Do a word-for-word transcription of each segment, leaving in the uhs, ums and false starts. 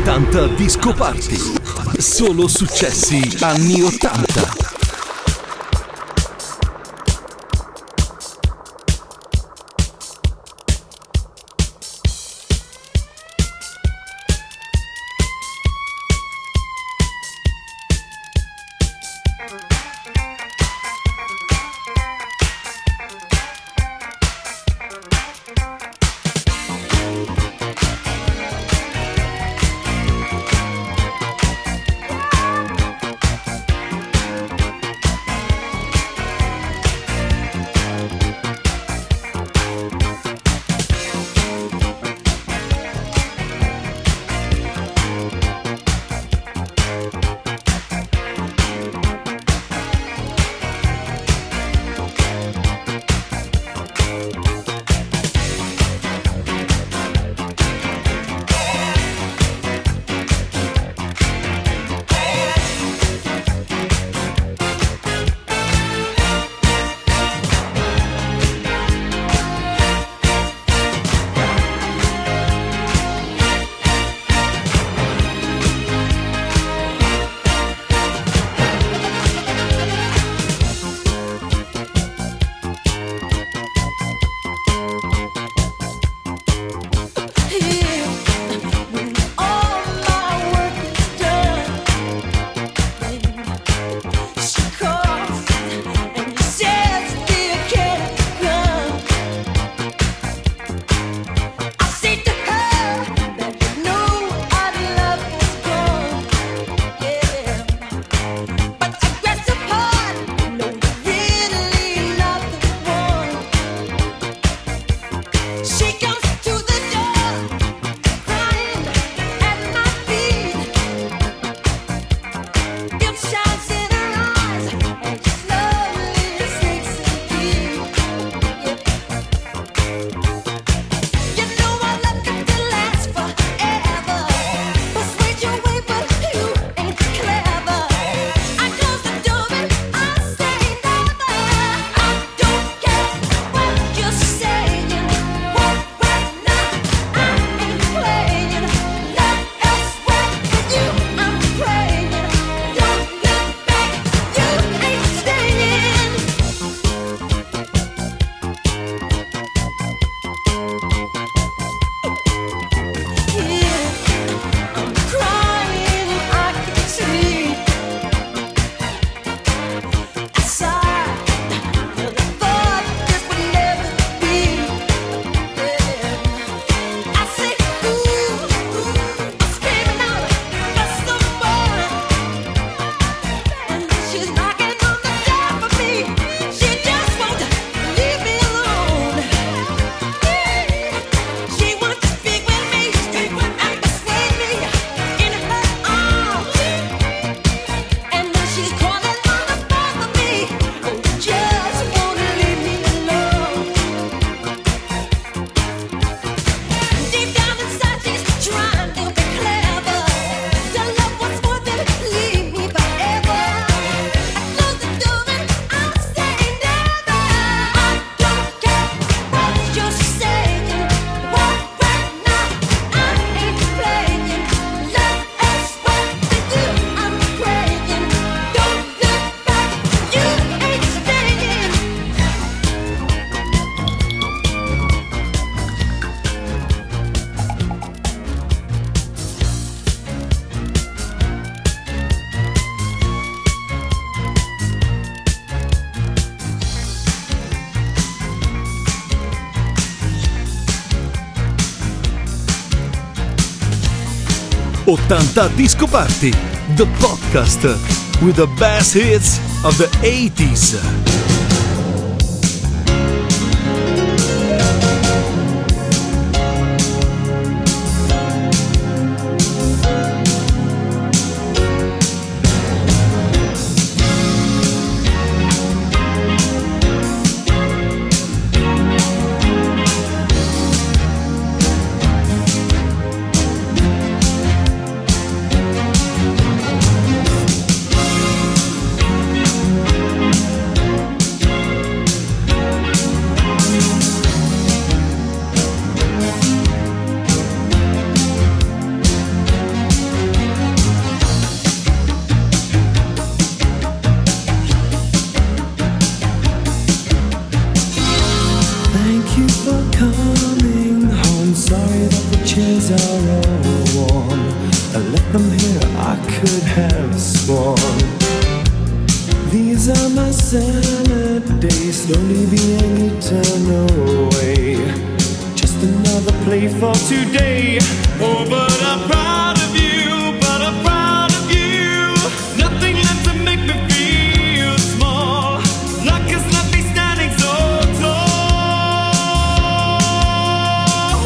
ottanta Disco Party. Solo successi anni ottanta. ottanta Disco Party, the podcast with the best hits of the eighties. worn. I let them hear I could have sworn. These are my salad days, slowly being eaten away. Just another play for today. Oh, but I'm proud of you, but I'm proud of you. Nothing left to make me feel small. Luck has left me standing so tall.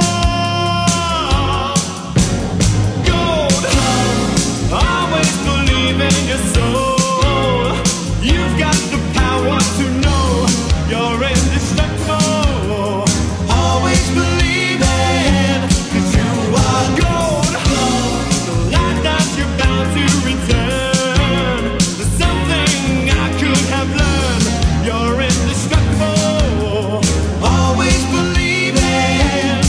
Gold, always believe in your soul. You've got the power to know you're indestructible. Always believe it, 'cause you are gold. The light that you're bound to return. There's something I could have learned. You're indestructible. Always believe it.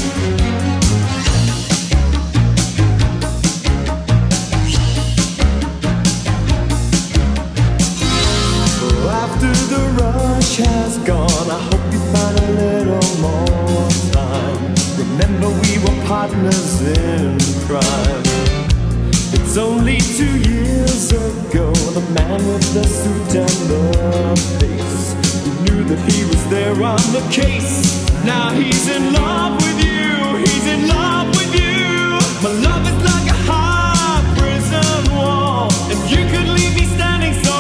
After the rush has gone, I hope you find a little more time. Remember we were partners in crime. It's only two years ago, the man with the suit and the face, who knew that he was there on the case. Now he's in love with you, he's in love with you. My love is like a high prison wall, and you could leave me standing so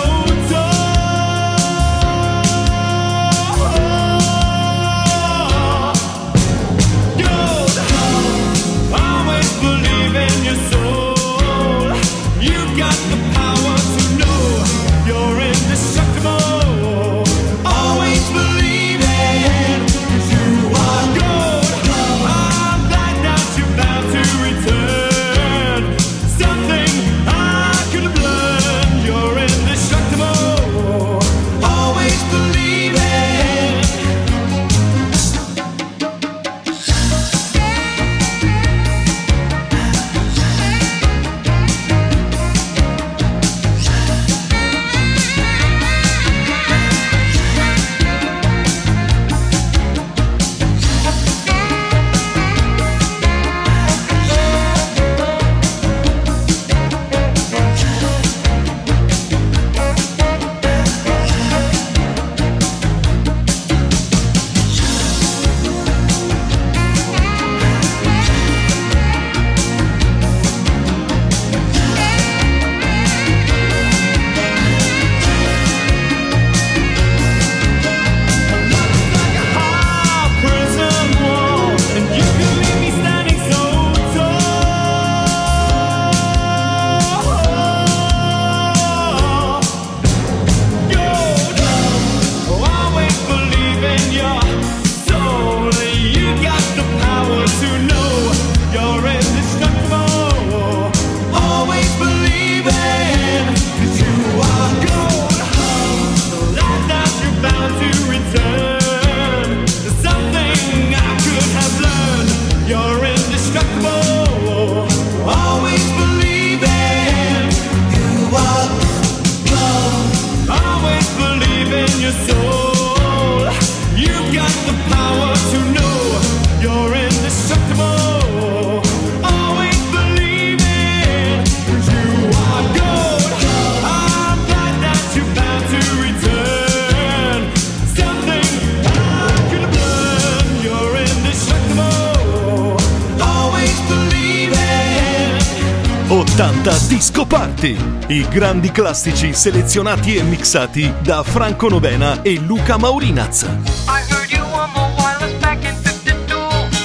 ottanta Disco Party, i grandi classici selezionati e mixati da Franco Novena e Luca Maurinaz. I heard you on the wireless back in fifty-two,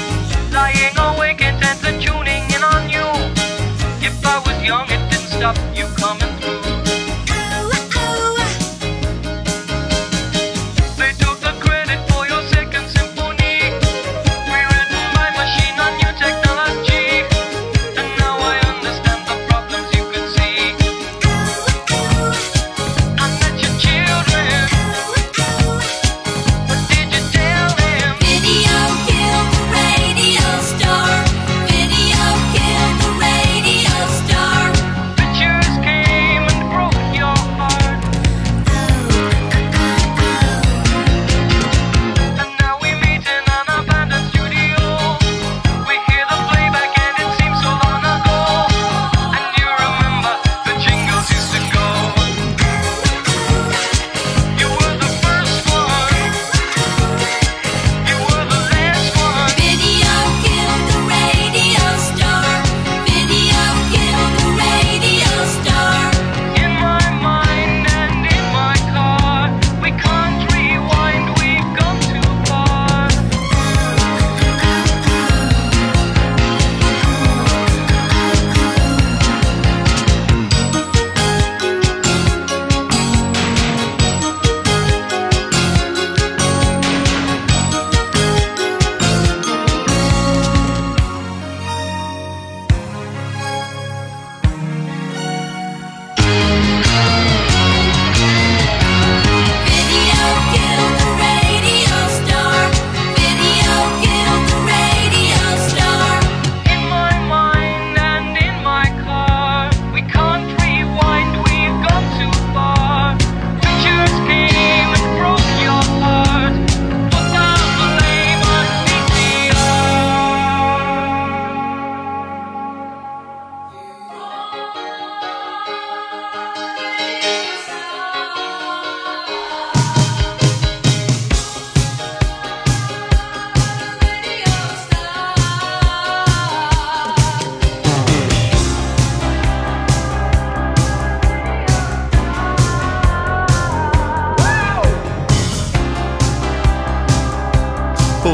lying awake intent and tuning in on you. If I was young, it didn't stop you coming through. They took the credit for your second symphony, rewritten by machine on new technology, and now I understand the problems you could see. I met your children, what did you tell them? Video killed the radio star. Video killed the radio star. Pictures came and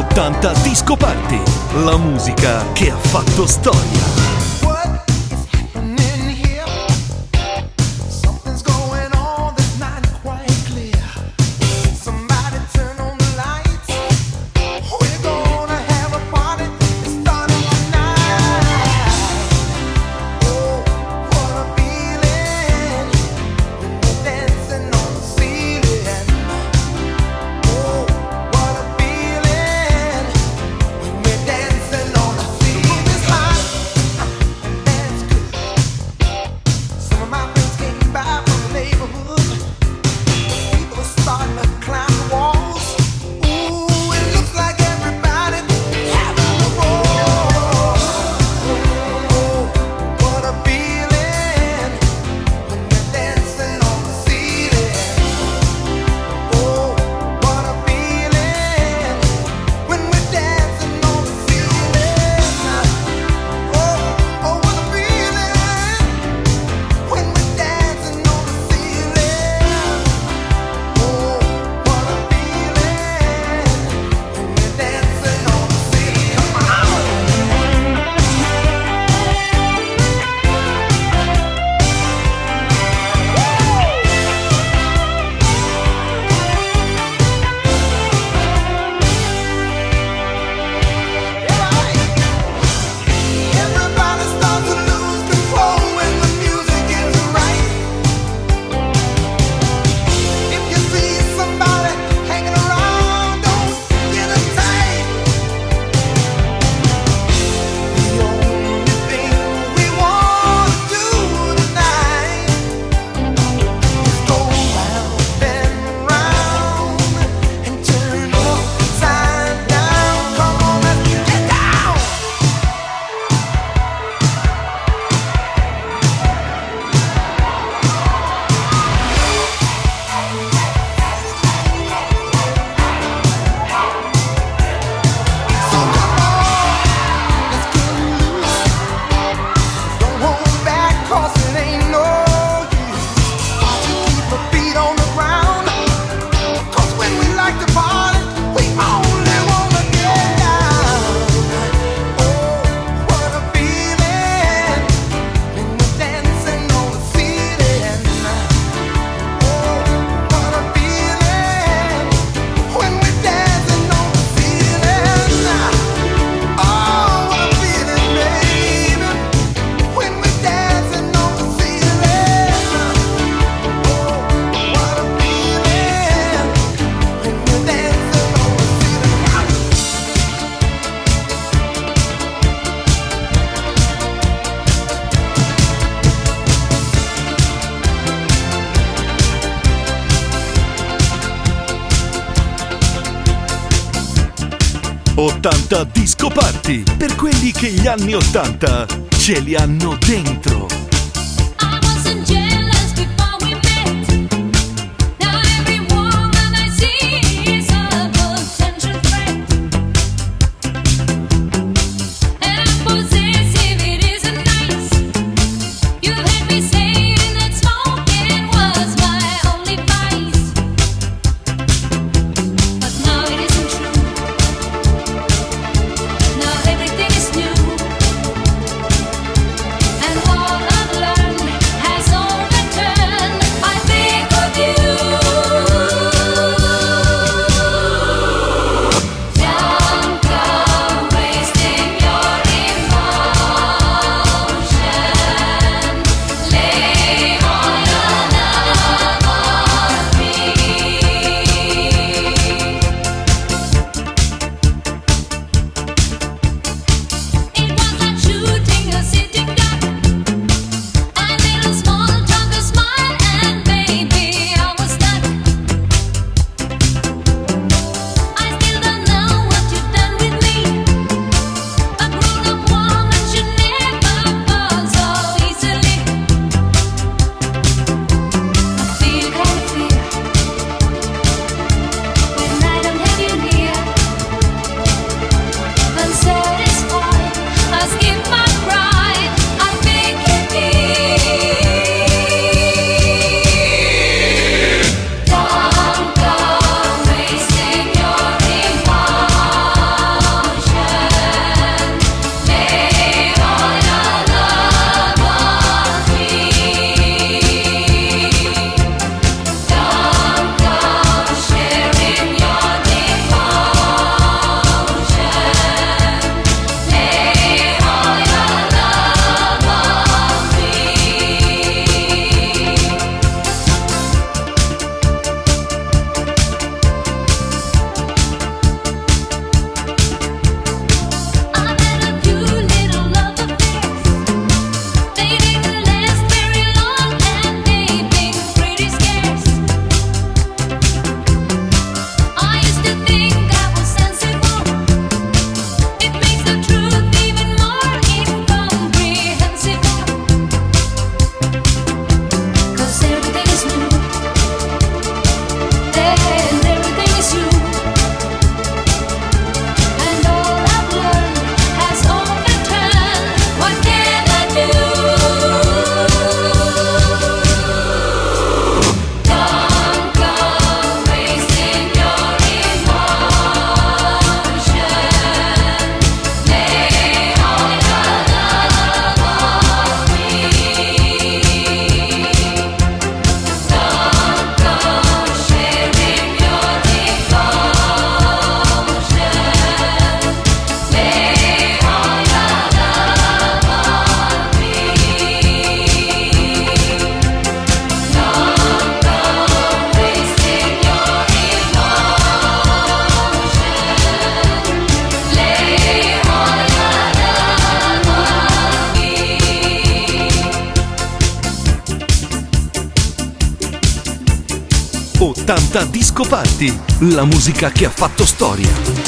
ottanta Disco Party, la musica che ha fatto storia. ottanta Disco Party, per quelli che gli anni ottanta ce li hanno dentro. I wasn't jealous before we met. Now every woman I see is a potential threat. And I'm possessive, it isn't nice. You had me saying that smoking was my only vice. But now it isn't true. Now everything is new. And all I ottanta Disco Party, la musica che ha fatto storia.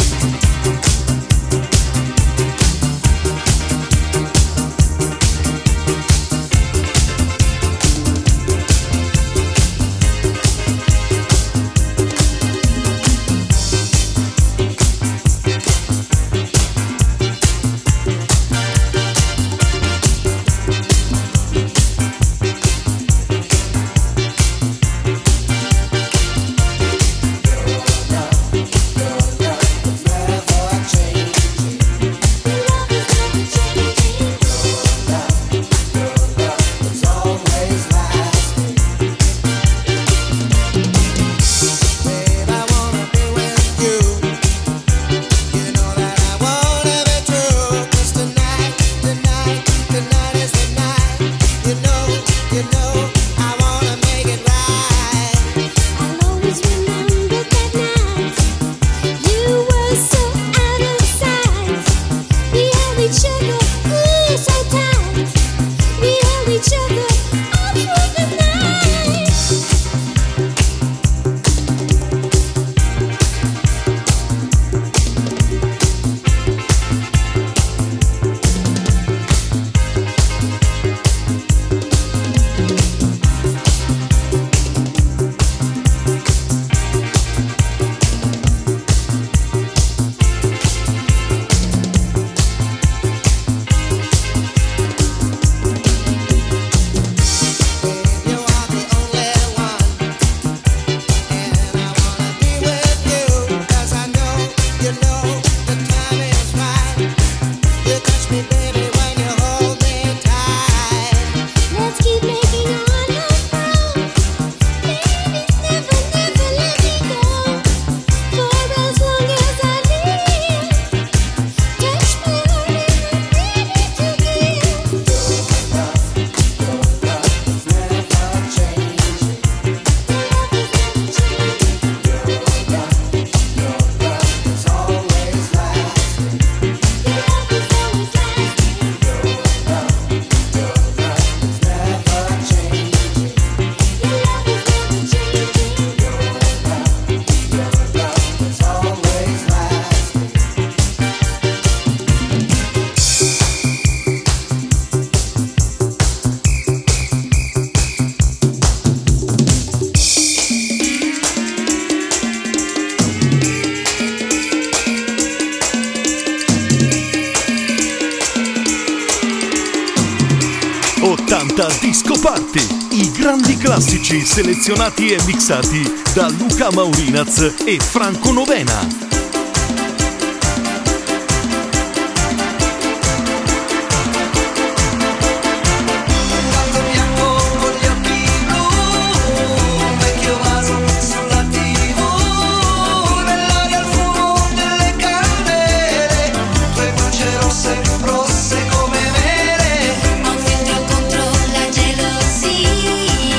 ottanta Disco Party, i grandi classici selezionati e mixati da Luca Maurinaz e Franco Novena.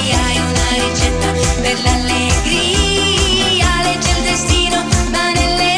L'allegria, legge il destino, ma nelle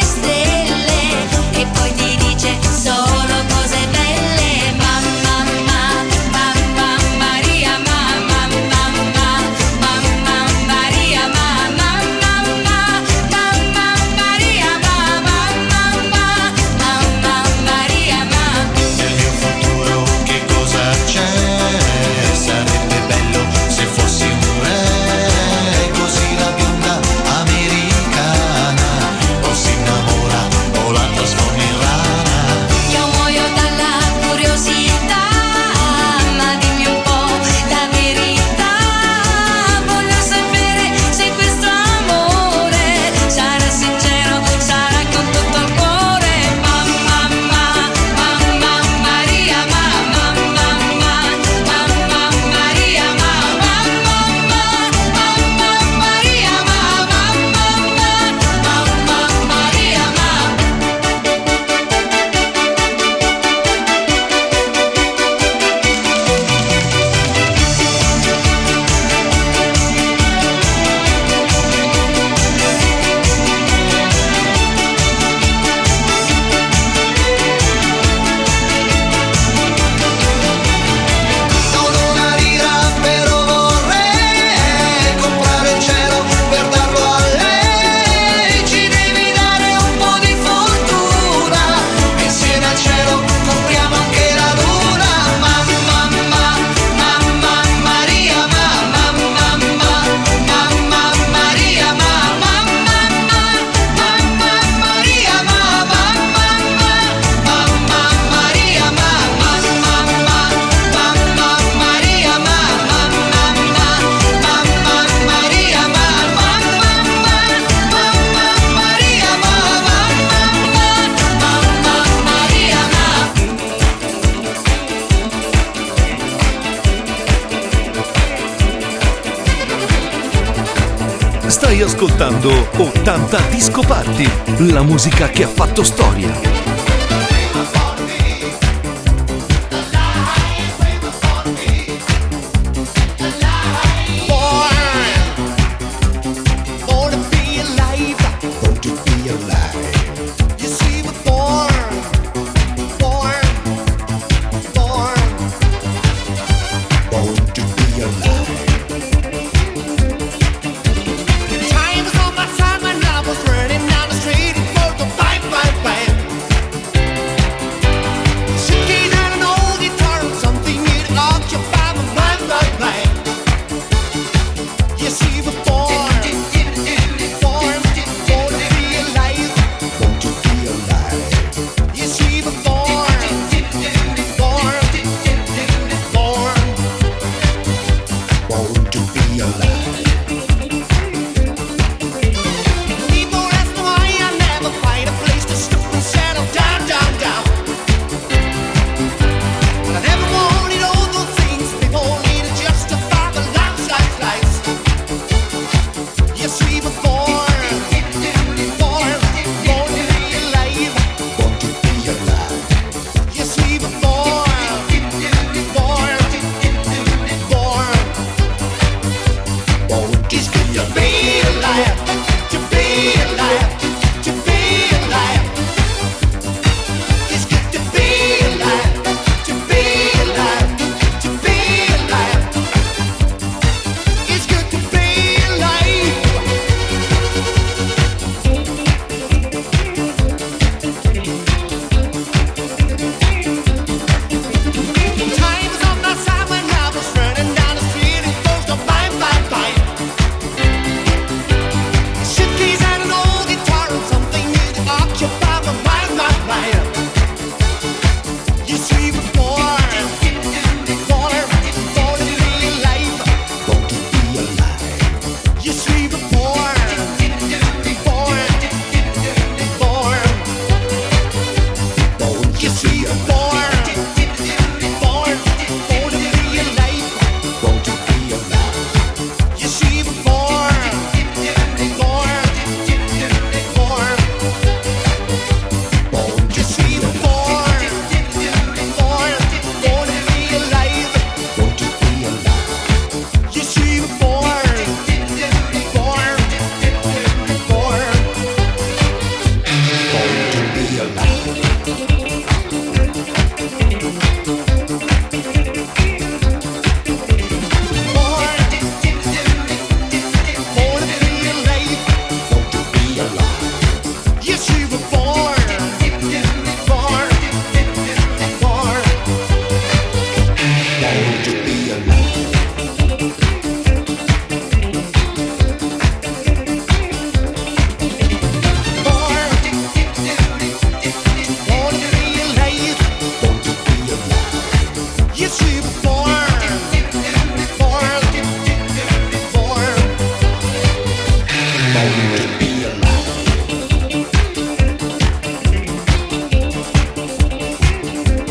Stai ascoltando ottanta Disco Party, la musica che ha fatto storia.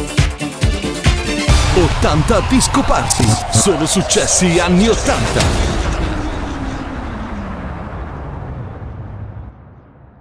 ottanta Disco Party, solo successi anni ottanta.